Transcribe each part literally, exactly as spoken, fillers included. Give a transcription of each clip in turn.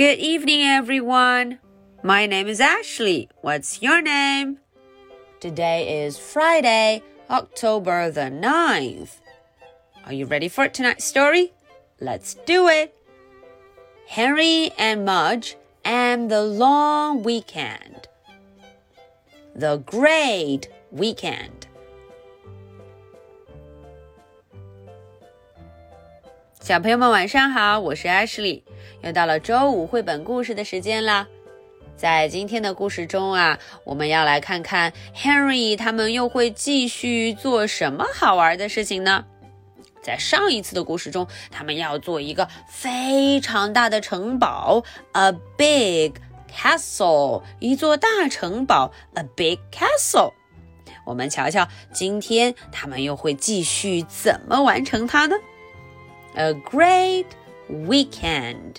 Good evening, everyone. My name is Ashley. What's your name? Today is Friday, October the ninth. Are you ready for tonight's story? Let's do it. Henry and Mudge and the long weekend. The great weekend. 小朋友们晚上好，我是 Ashley， 又到了周五绘本故事的时间啦。在今天的故事中啊，我们要来看看 Henry 他们又会继续做什么好玩的事情呢？在上一次的故事中，他们要做一个非常大的城堡 A big castle 一座大城堡 A big castle 我们瞧瞧今天他们又会继续怎么完成它呢？ A great weekend.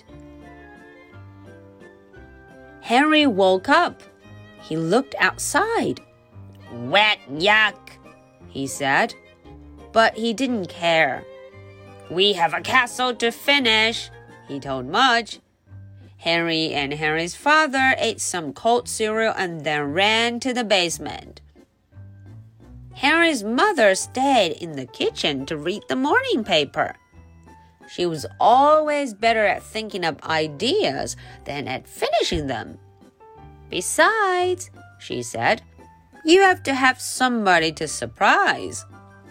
Henry woke up. He looked outside. Wet yuck, he said, but he didn't care. We have a castle to finish, he told Mudge. Henry and Henry's father ate some cold cereal and then ran to the basement. Henry's mother stayed in the kitchen to read the morning paper. She was always better at thinking up ideas than at finishing them. Besides, she said, you have to have somebody to surprise.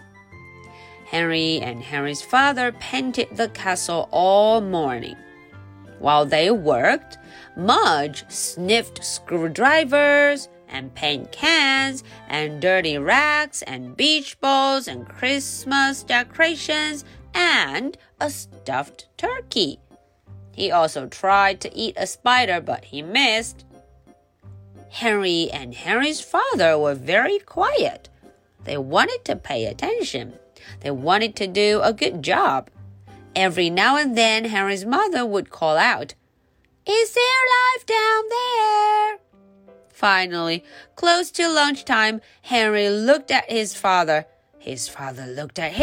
Henry and Henry's father painted the castle all morning. While they worked, Mudge sniffed screwdrivers and paint cans and dirty racks and beach balls and Christmas decorations and a stuffed turkey. He also tried to eat a spider, but he missed. Henry and Henry's father were very quiet. They wanted to pay attention. They wanted to do a good job. Every now and then, Henry's mother would call out, "Is there life down there?" Finally, close to lunchtime, Henry looked at his father. His father looked at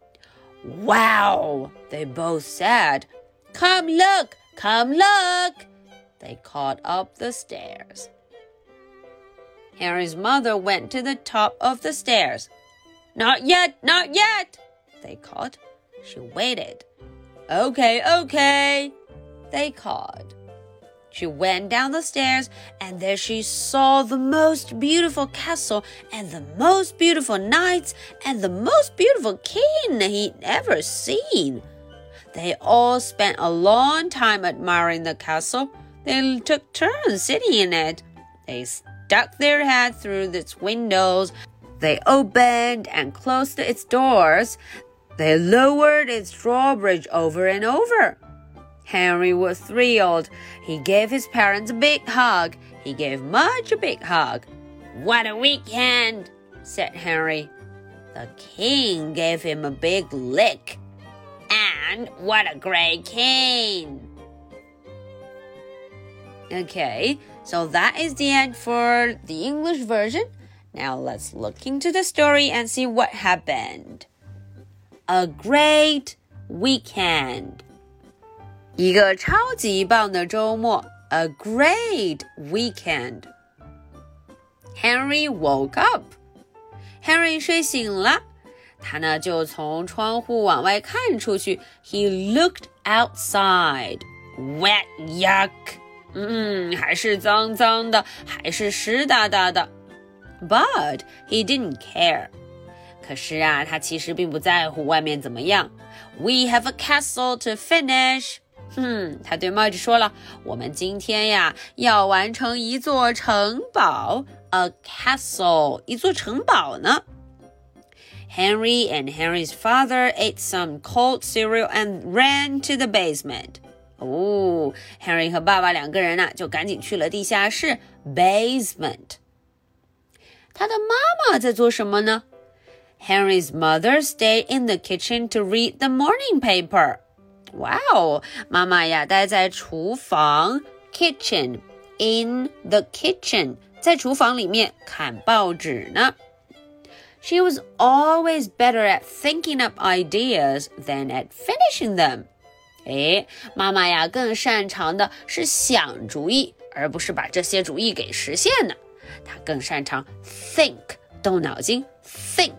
him.Wow, they both said. Come look, come look. They called up the stairs. Henry's mother went to the top of the stairs. Not yet, not yet, they called. She waited. Okay, okay, they called. She went down the stairs, and there she saw the most beautiful castle and the most beautiful knights and the most beautiful king he'd ever seen. They all spent a long time admiring the castle. They took turns sitting in it. They stuck their head through its windows. They opened and closed its doors. They lowered its drawbridge over and over.Henry was thrilled. He gave his parents a big hug. He gave Mudge a big hug. What a weekend, said Henry. The king gave him a big lick. And what a great king. Okay, so that is the end for the English version. Now let's look into the story and see what happened. A great weekend.一个超级棒的周末 A great weekend. Henry woke up. Henry 睡醒了，他呢就从窗户往外看出去 He looked outside. Wet yuck. 嗯，还是脏脏的，还是湿哒哒的。But he didn't care. 可是啊，他其实并不在乎外面怎么样。We have a castle to finish.嗯，他对 Mudge 说了，我们今天呀要完成一座城堡 A castle 一座城堡呢 Henry and Henry's father ate some cold cereal and ran to the basement 哦 Henry 和爸爸两个人呢就赶紧去了地下室 Basement 他的妈妈在做什么呢 Henry's mother stayed in the kitchen to read the morning paper哇哦，妈妈呀待在厨房 kitchen in the kitchen 在厨房里面看报纸呢 She was always better at thinking up ideas than at finishing them 诶，妈妈呀更擅长的是想主意，而不是把这些主意给实现呢。她更擅长 think， 动脑筋 think.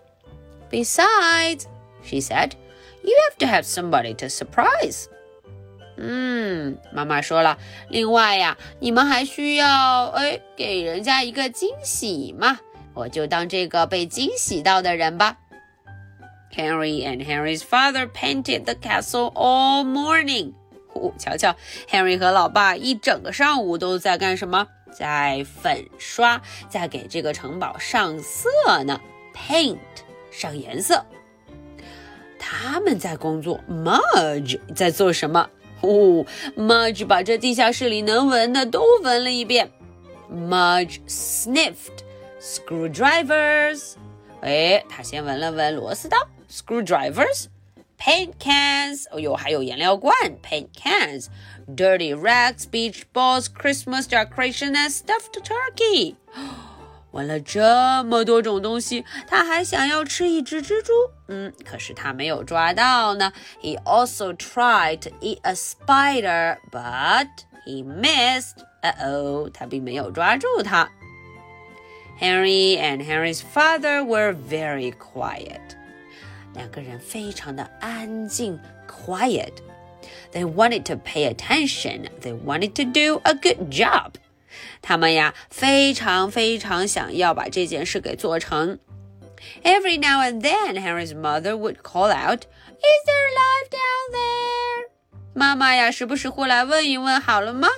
Besides, she said, you have to have somebody to surprise. 嗯，妈妈说了，另外呀，你们还需要哎给人家一个惊喜嘛，我就当这个被惊喜到的人吧。Henry and Henry's father painted the castle all morning. 哦，瞧瞧 ，Henry 和老爸一整个上午都在干什么？在粉刷，在给这个城堡上色呢。Paint， 上颜色。他们在工作 ，Mudge 在做什么？哦 ，Mudge 把这地下室里能闻的都闻了一遍。Mudge sniffed screwdrivers. 哎，他先闻了闻螺丝刀 ，screwdrivers, paint cans， 哦哟，还有颜料罐 ，paint cans, dirty rags, beach balls, Christmas decoration and stuffed turkey。闻了这么多种东西，他还想要吃一只蜘蛛，嗯，可是他没有抓到呢。He also tried to eat a spider, but he missed. 呃哦，他并没有抓住它。Henry and Henry's father were very quiet. 两个人非常的安静 quiet. They wanted to pay attention. They wanted to do a good job. 他们呀非常非常想要把这件事给做成。Every now and then, Henry's mother would call out, Is there life down there? 妈妈呀时不时会来问一问好了吗？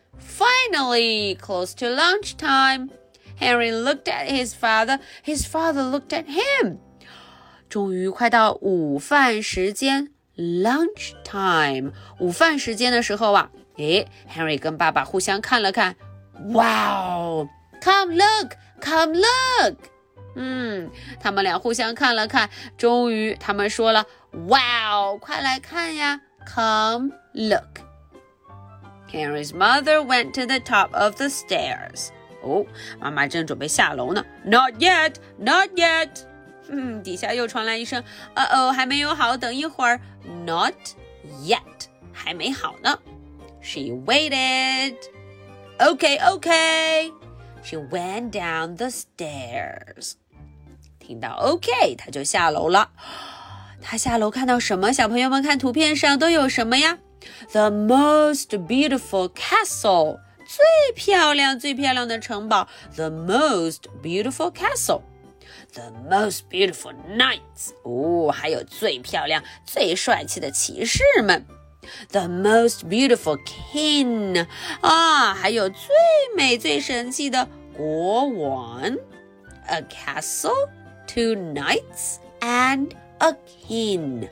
Finally, close to lunchtime, Henry looked at his father. His father looked at him. 终于快到午饭时间 lunch time 午饭时间的时候啊，诶 Henry 跟爸爸互相看了看 Wow, come look, come look. 嗯，他们俩互相看了看，终于他们说了 Wow, 快来看呀 Come look. Henry's mother went to the top of the stairs. 哦，妈妈正准备下楼呢 Not yet, not yet. 嗯，底下又传来一声呃哦，还没有好，等一会儿 Not yet, 还没好呢 She waited. Okay, okay. She went down the stairs. 听到 OK, 她就下楼了。她下楼看到什么？小朋友们看图片上都有什么呀？ The most beautiful castle. 最漂亮最漂亮的城堡 The most beautiful castle. The most beautiful knights. 哦，还有最漂亮最帅气的骑士们 The most beautiful king. 啊，还有最美最神气的国王 A castle, two knights, and a king.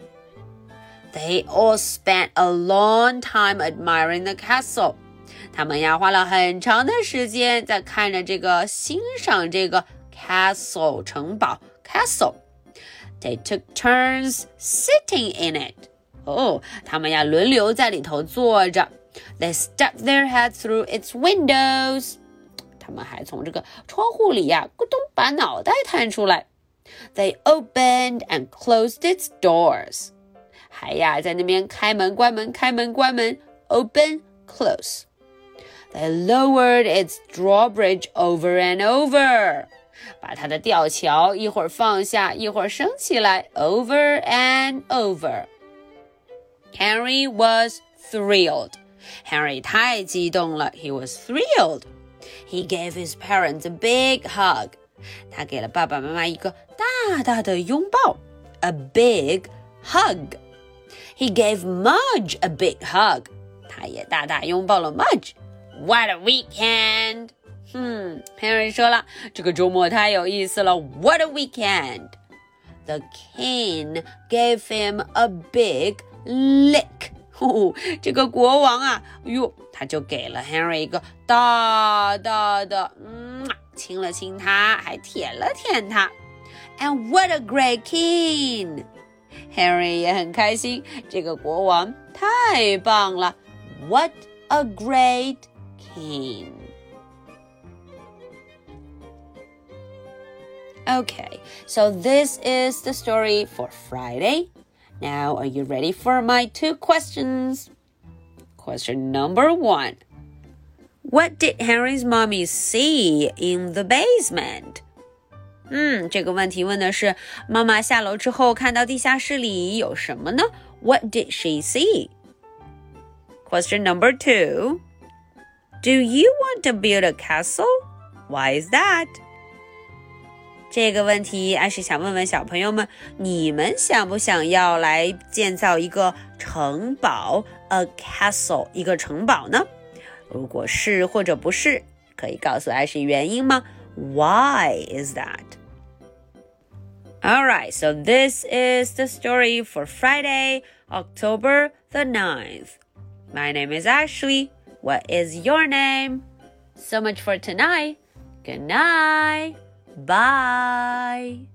They all spent a long time admiring the castle. 他们呀花了很长的时间在看着这个欣赏这个 castle 城堡 castle. They took turns sitting in it. 哦，他们呀轮流在里头坐着。They stuck their heads through its windows. 他们还从这个窗户里呀咕咚把脑袋探出来。They opened and closed its doors. 还呀在那边开门关门开门关门 open close. They lowered its drawbridge over and over. 把它的吊桥一会儿放下一会儿升起来 over and over. Henry was thrilled. Henry 太激动了 He was thrilled. He gave his parents a big hug. 他给了爸爸妈妈一个大大的拥抱 A big hug. He gave Mudge a big hug. 他也大大拥抱了 Mudge. What a weekend! 嗯 Henry 说了这个周末太有意思了 What a weekend! The king gave him a big lick. 哦，这个国王啊哟他就给了 Henry 一个大大的嗯亲了亲他还舔了舔他 And what a great king! Henry 也很开心这个国王太棒了 What a great king! Okay, so this is the story for Friday. Now, are you ready for my two questions? Question number one. What did Henry's mommy see in the basement? 嗯，这个问题问的是妈妈下楼之后看到地下室里有什么呢？ What did she see? Question number two. Do you want to build a castle? Why is that? 这个问题艾是想问问小朋友们，你们想不想要来建造一个城堡 a castle 一个城堡呢？如果是或者不是，可以告诉艾是原因吗？ Why is that? Alright, so this is the story for Friday, October the ninth. My name is Ashley. What is your name? So much for tonight. Good night. Bye.